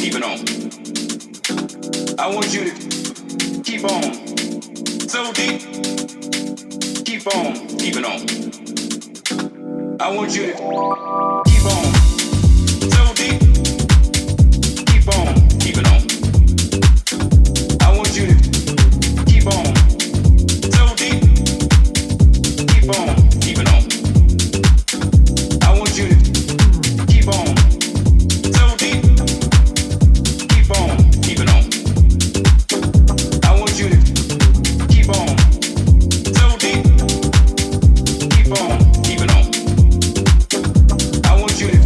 keep it on. I want you to keep on. So deep. Keep on, keep it on. I want you to keep on. So deep. Keep on, keep it on. I want you to keep on. So deep. Keep on, keep it on. I want you to keep on. So deep. Keep on, keep it on. I want you to keep on. So deep. Keep on, keep it on. I want you to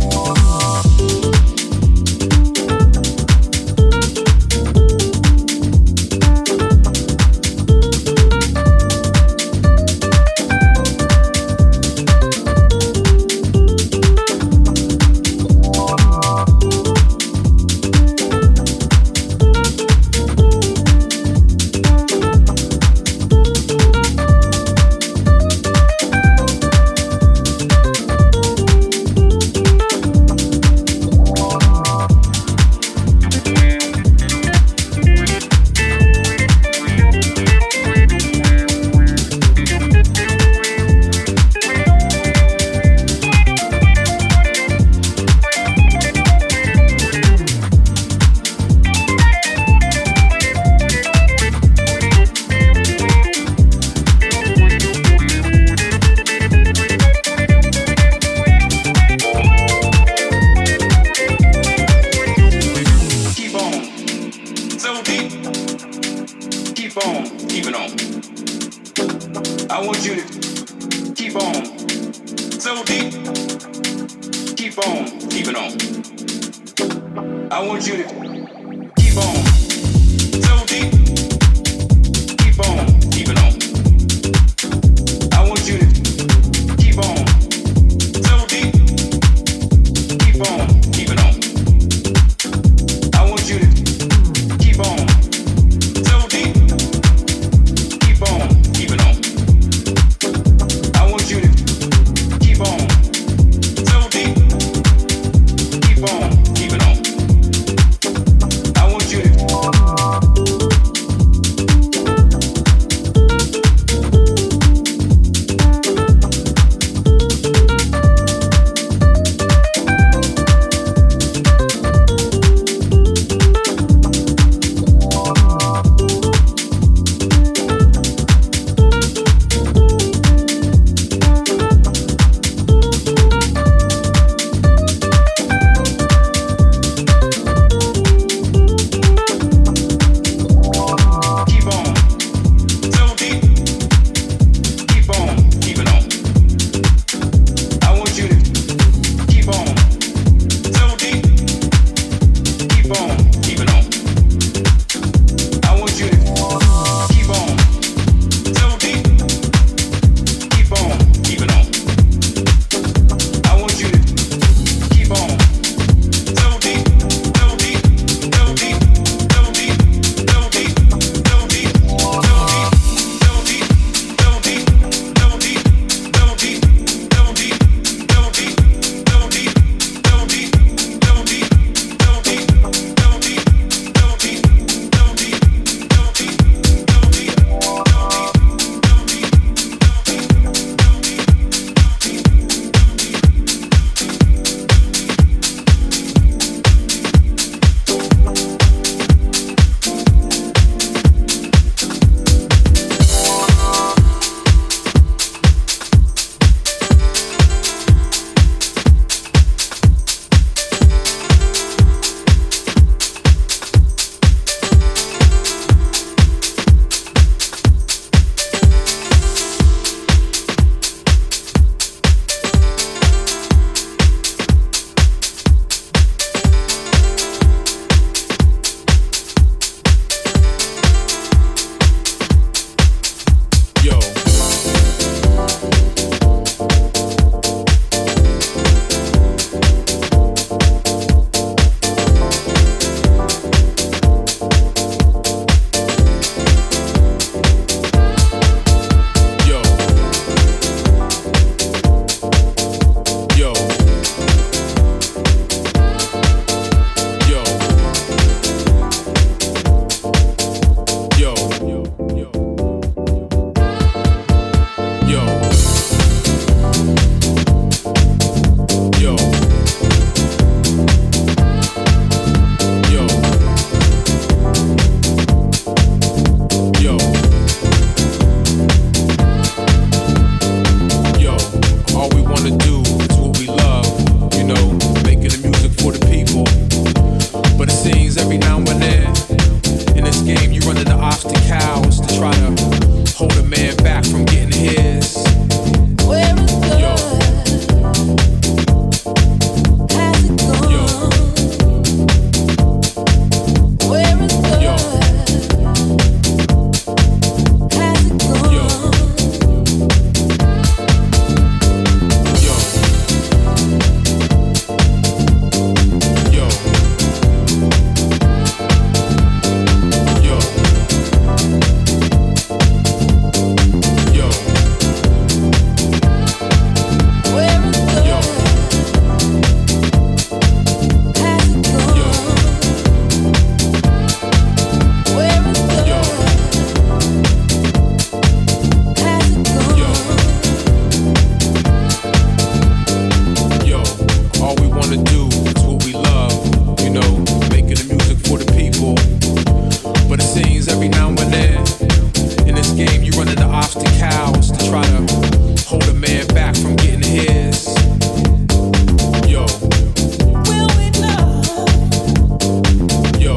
man back from getting his. Yo. Will we love? Yo.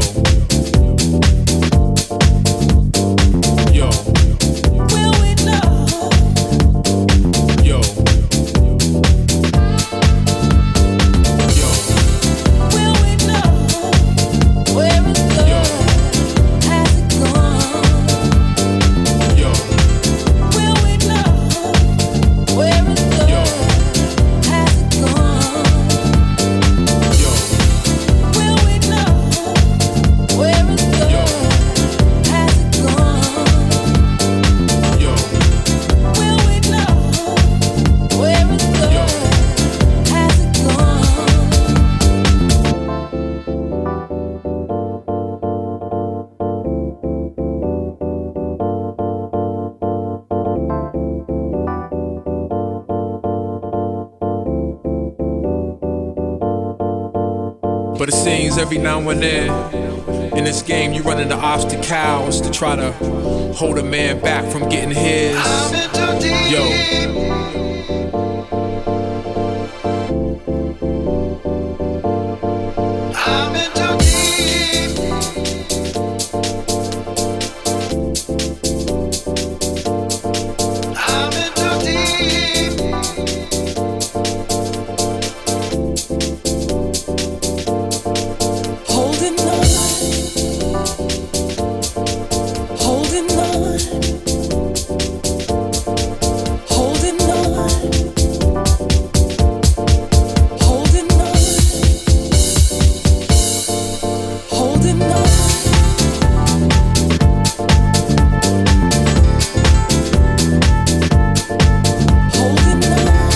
Yo. Will we love? Yo. Yo. Will we love? Where is love? Has it gone? Yo. Will we love? Where is love? Has it gone? Yo. Will we love? Where is love? Has it gone? Yo. Will we love? Where is love? Has it gone? But it seems every now and then in this game you run into obstacles to try to hold a man back from getting his. Yo. Holding on, holding on, holding on, holding on, holding on. Holding on.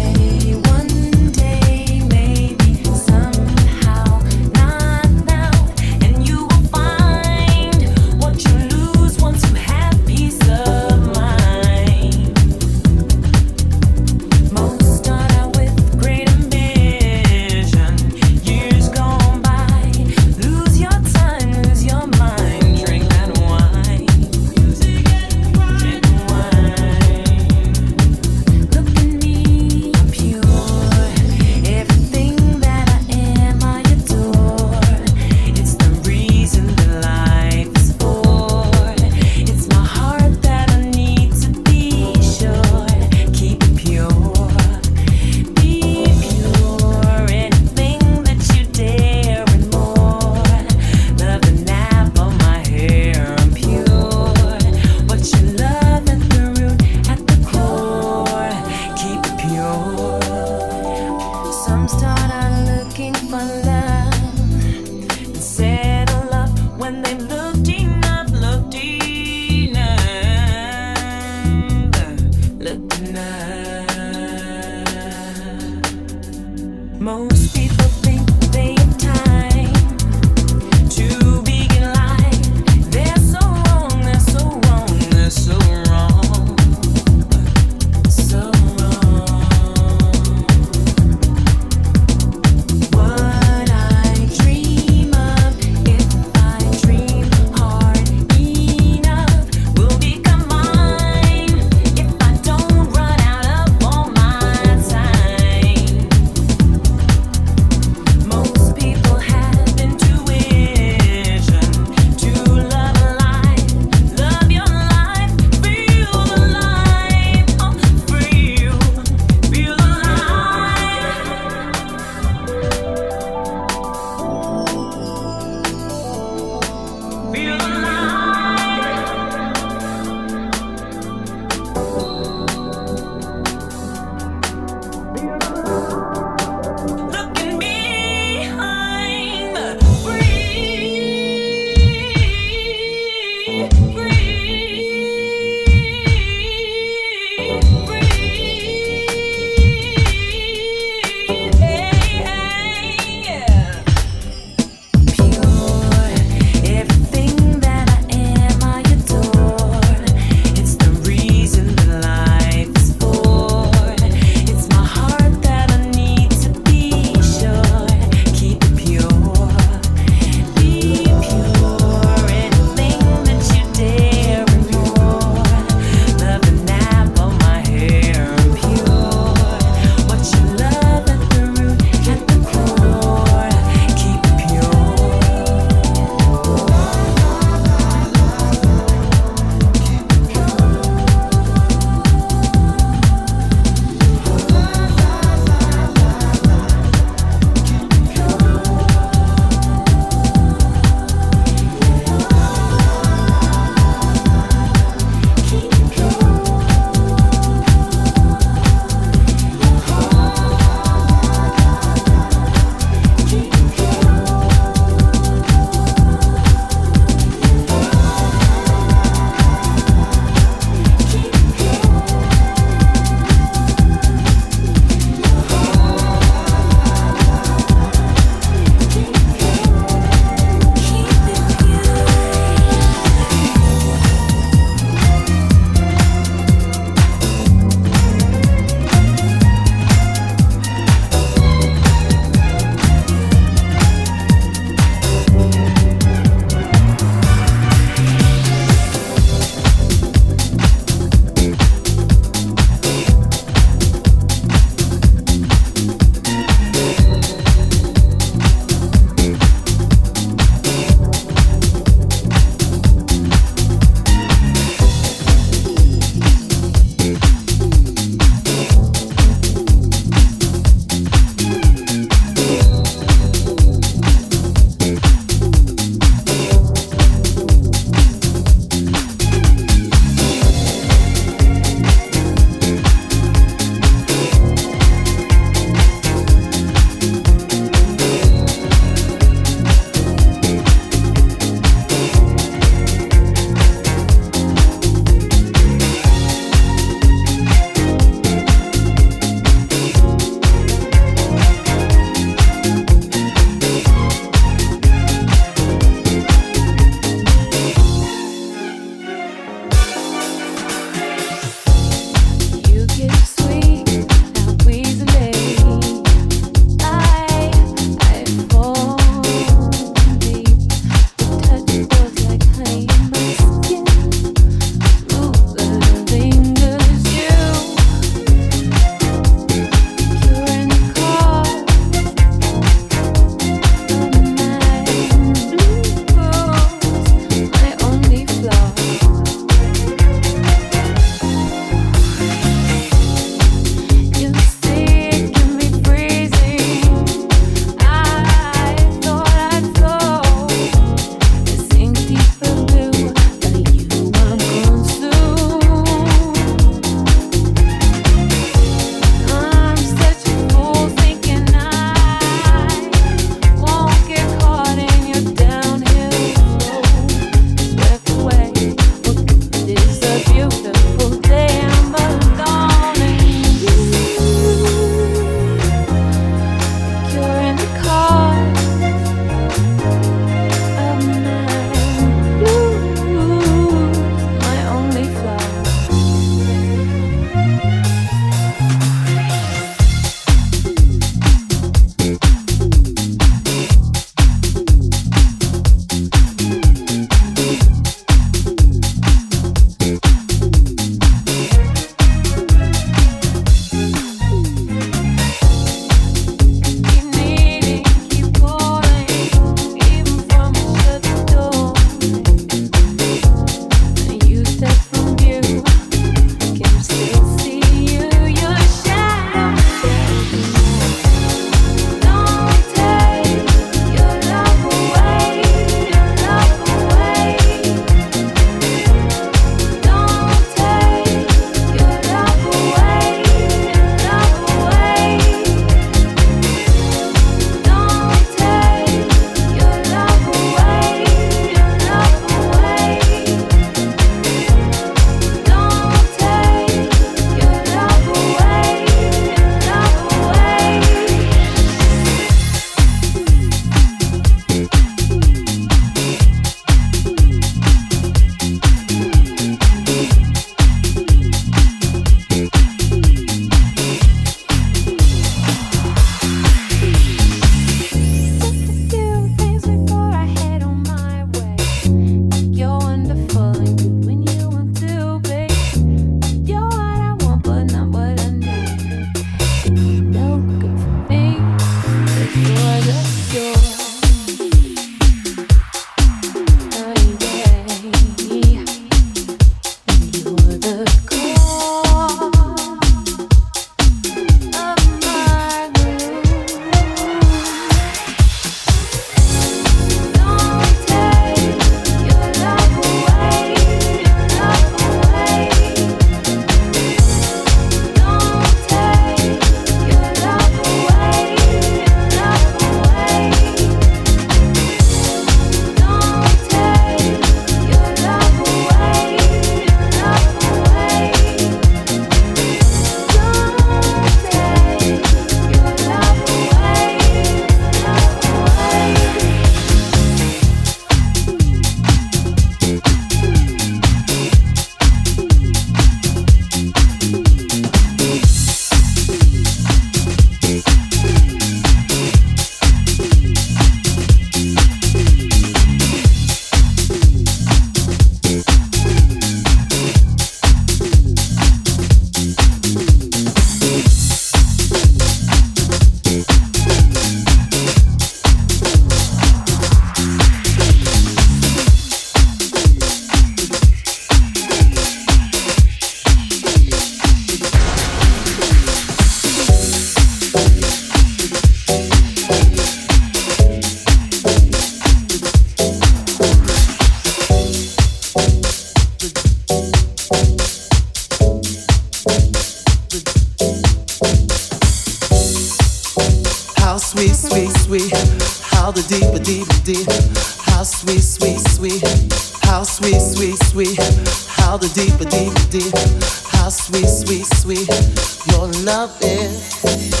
sweet. How the deeper, deeper, deep. How sweet, sweet, sweet. How sweet, sweet, sweet. How the deeper, deeper, deep. How sweet, sweet, sweet. Your love is.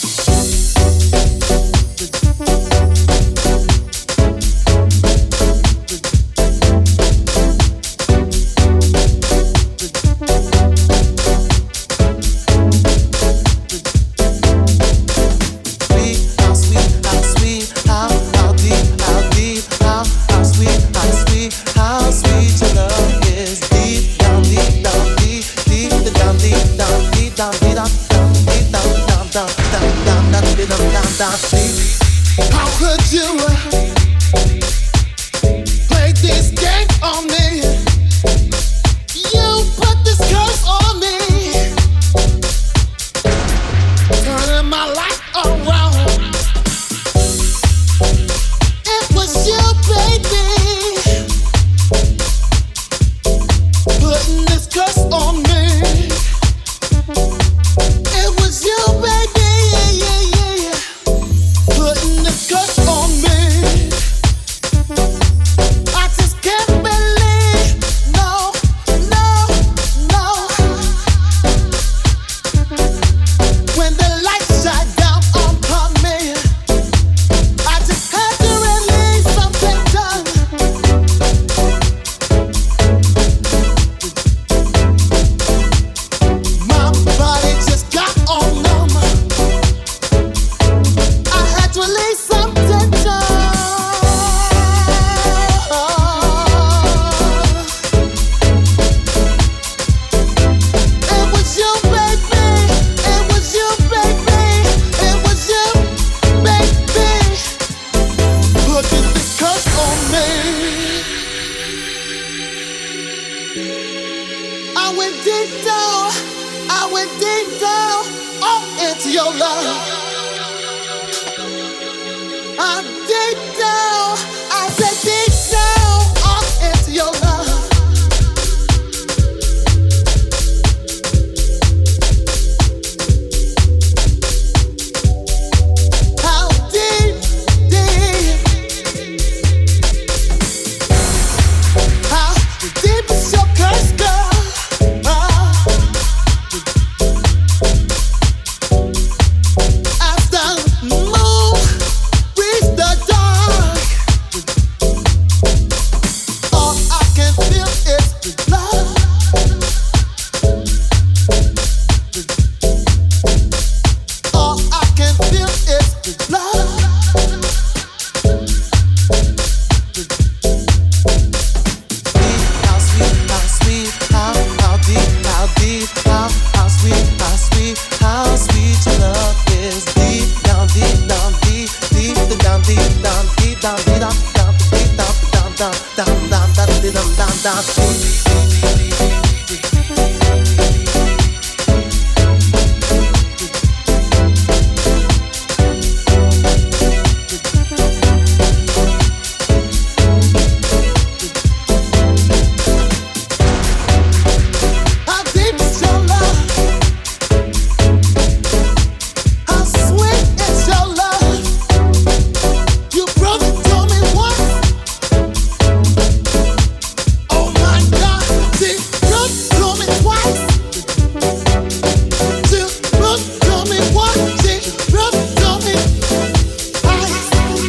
How could you play this game on me? You put this curse on me, turning my life around. It was you, baby, putting this curse on me. It was you, baby, putting this curse on me. I just can't believe, no, no, no. When the lights shine down upon me, I just had to release something done. My body just got all numb. I had to release some tension. It was you, baby. It was you, baby. It was you, baby. Putting this curse on me. I went deep down. I went deep down. Oh, into your love. I'm deep down, I said deep down, off into your love. How deep, deep, how deep is your curse, girl? As the moon reach the dark, all I can feel is the love. All I can feel is the love. How sweet, how sweet, how deep, how deep, how sweet, how sweet, how sweet your love is. Deep down, deep down, deep, deep down, deep down, deep down, deep down, deep down, down, down, down, down, down, down, down, down, down. How deep is your love? How sweet is your love? You broke it to me once. Oh my God, she broke to me twice. She broke to me once. She broke to me twice.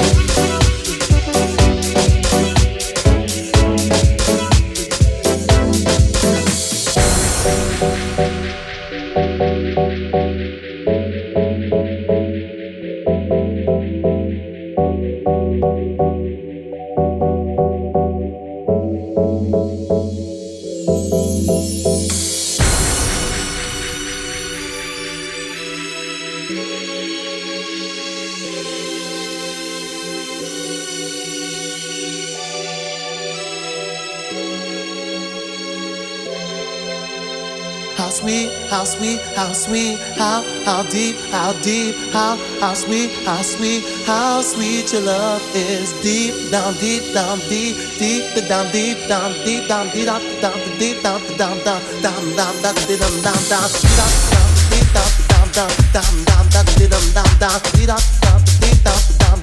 How sweet, how sweet, how sweet, how deep, how deep, how sweet, how sweet, how sweet your love is. Deep down, deep down, deep, deep down, deep down, deep down, deep down, deep down, down, down, down, down, down, down, down, down, down, deep down, down, down, down, down, down, down, down, down, down, down, down, down, down, down,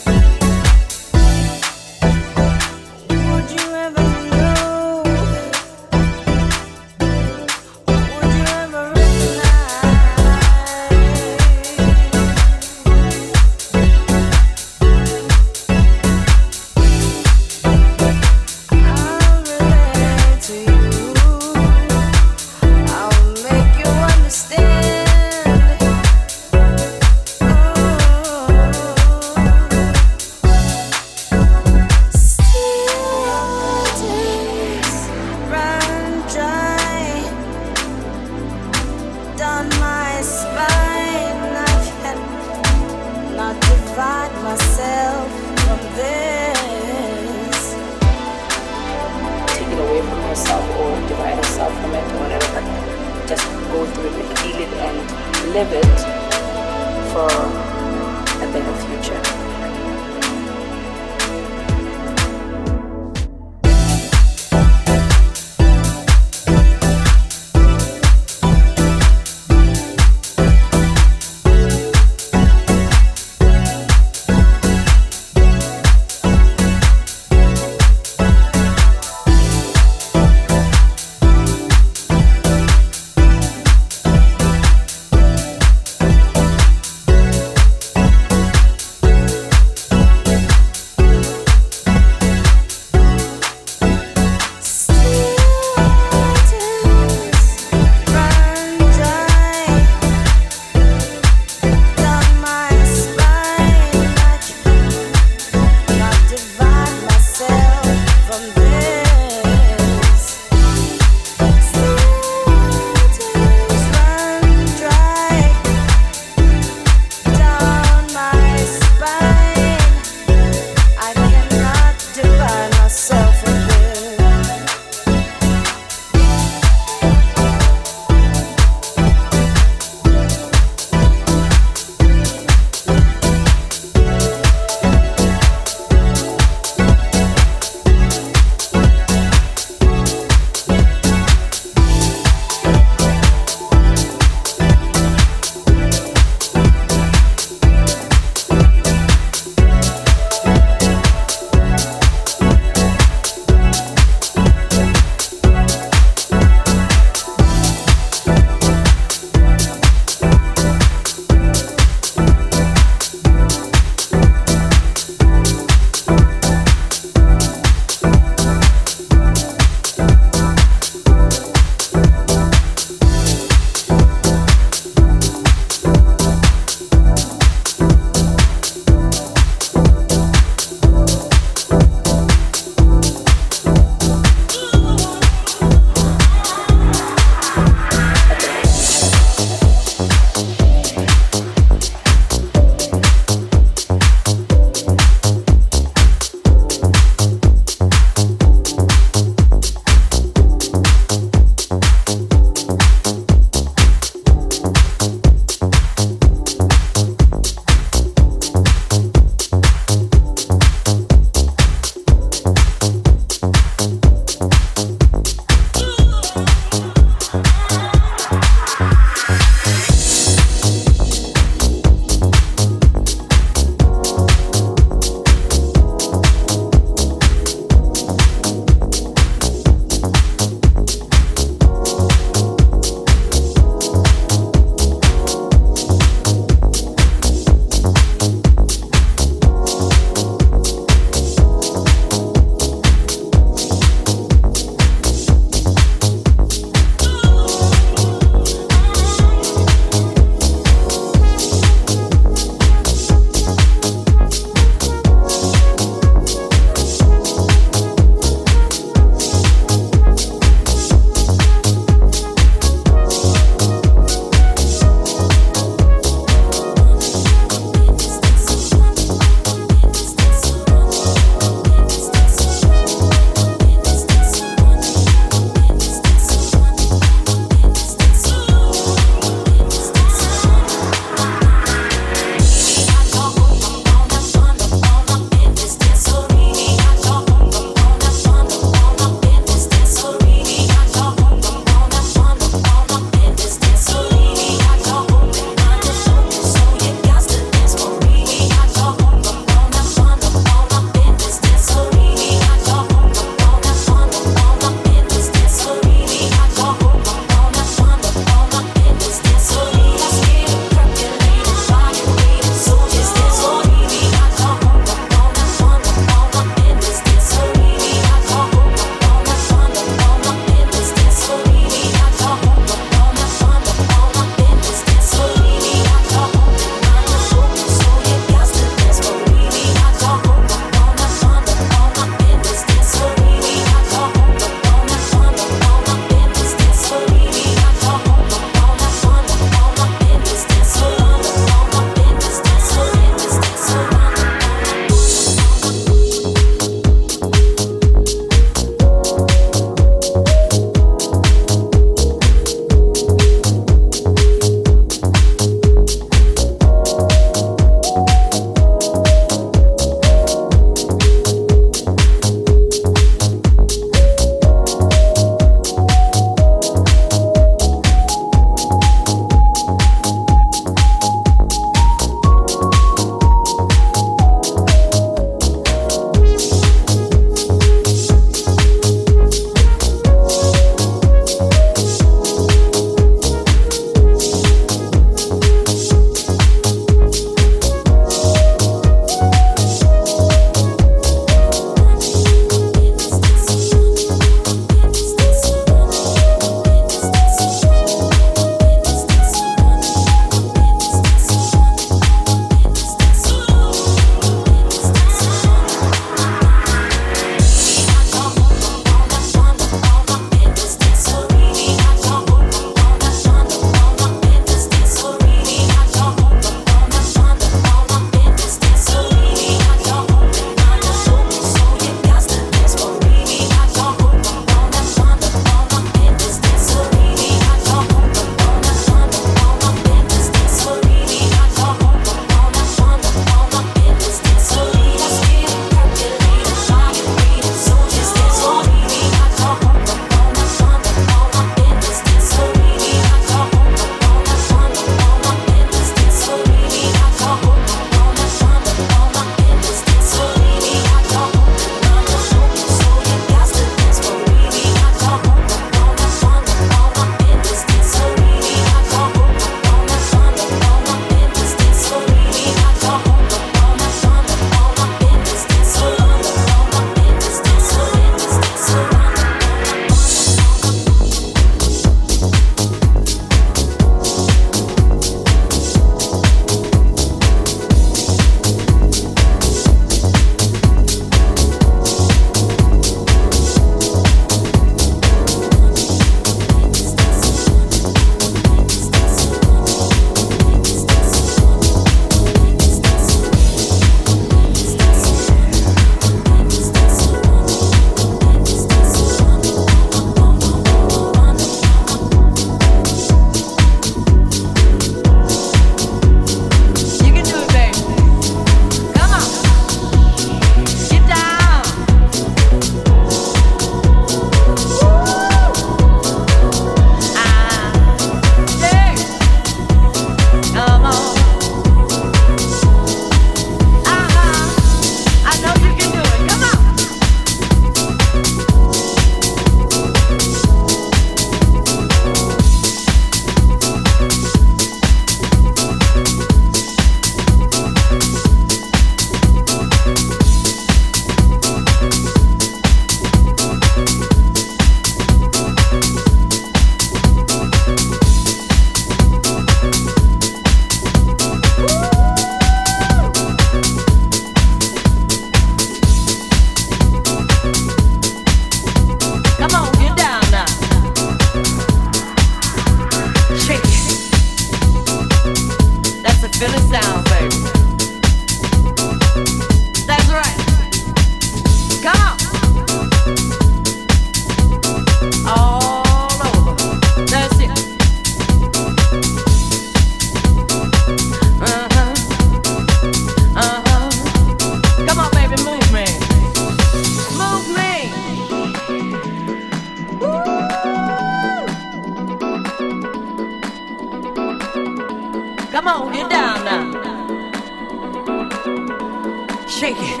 shake it.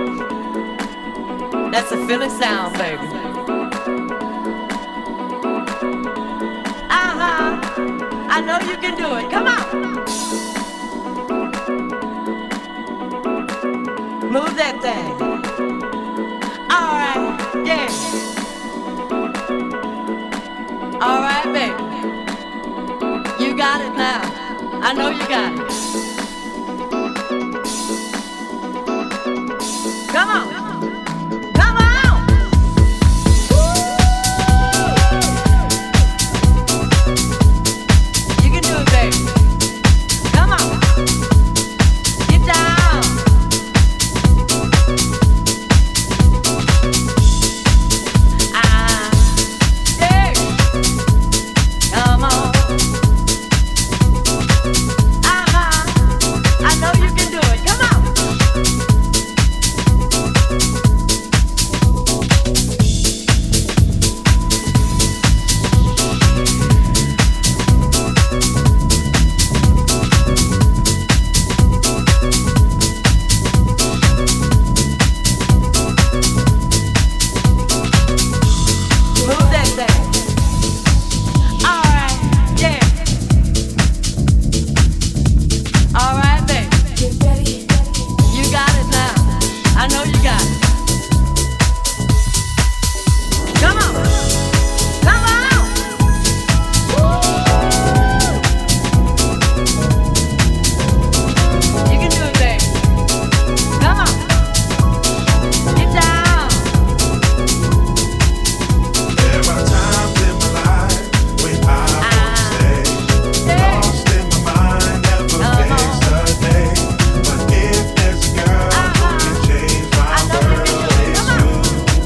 That's a Philly sound, baby. I know you can do it. Come on. Move that thing. All right, yeah. All right, baby. You got it now. I know you got it. Come on. Come on. You can do it, baby. Come on. Get down. Yeah. Come on. I know you can do it. Come on. Move that thing. All right, yeah. All right, baby. You got it now. I know you got it. Come on. Come on. You can do it, baby. Come on. Get down. There are times in my life when I want to stay lost in my mind, never face the day. But if there's a girl who can change my world, it's you.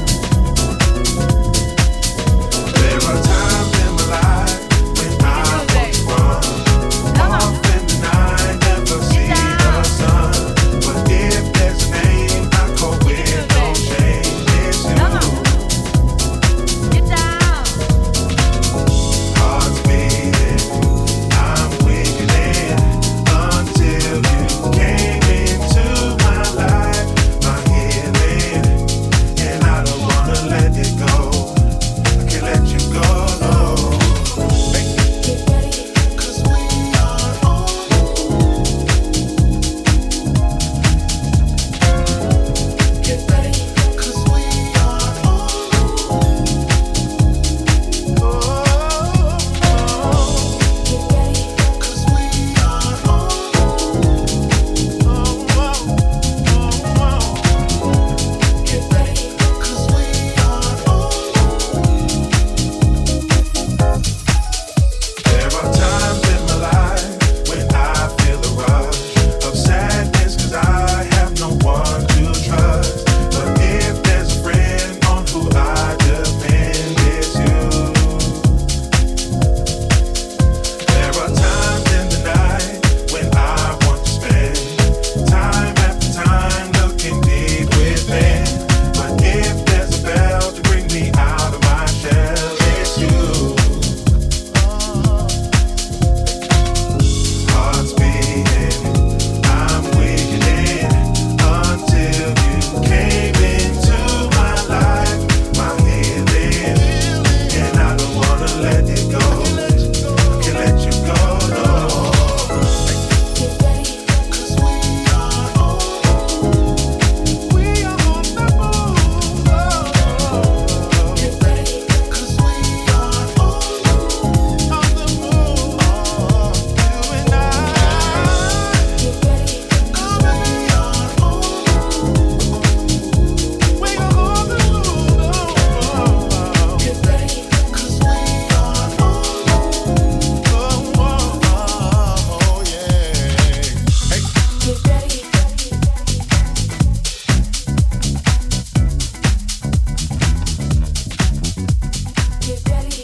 There are times in my life when I want to run off in the night, never see the sun. But if there's a name I call with no shame, it's you. Get down. Heart's beating, I'm wiggling until you came into my life, my healing, and I don't wanna let it go. I can't let you go, no. 'Cause we are on. Get ready, 'cause we are on. There are times in my life when I feel a rush of sadness 'cause I have no one to trust. But if there's a friend on who I depend, it's you. There are times in the night when I want to spend time after time looking deep within. But if there's a bell to bring me out of my shell, it's you. Heart's beating, I'm wiggling until you came into my life, my healing, and I don't wanna let it go. Can't let you go, no. 'Cause we are on. We are on the move. Get ready, 'cause we are on the move. You and I. Get ready, 'cause we are on. We are on the move. Get ready, 'cause we are on. Oh, yeah. Hey. Get ready. Get ready.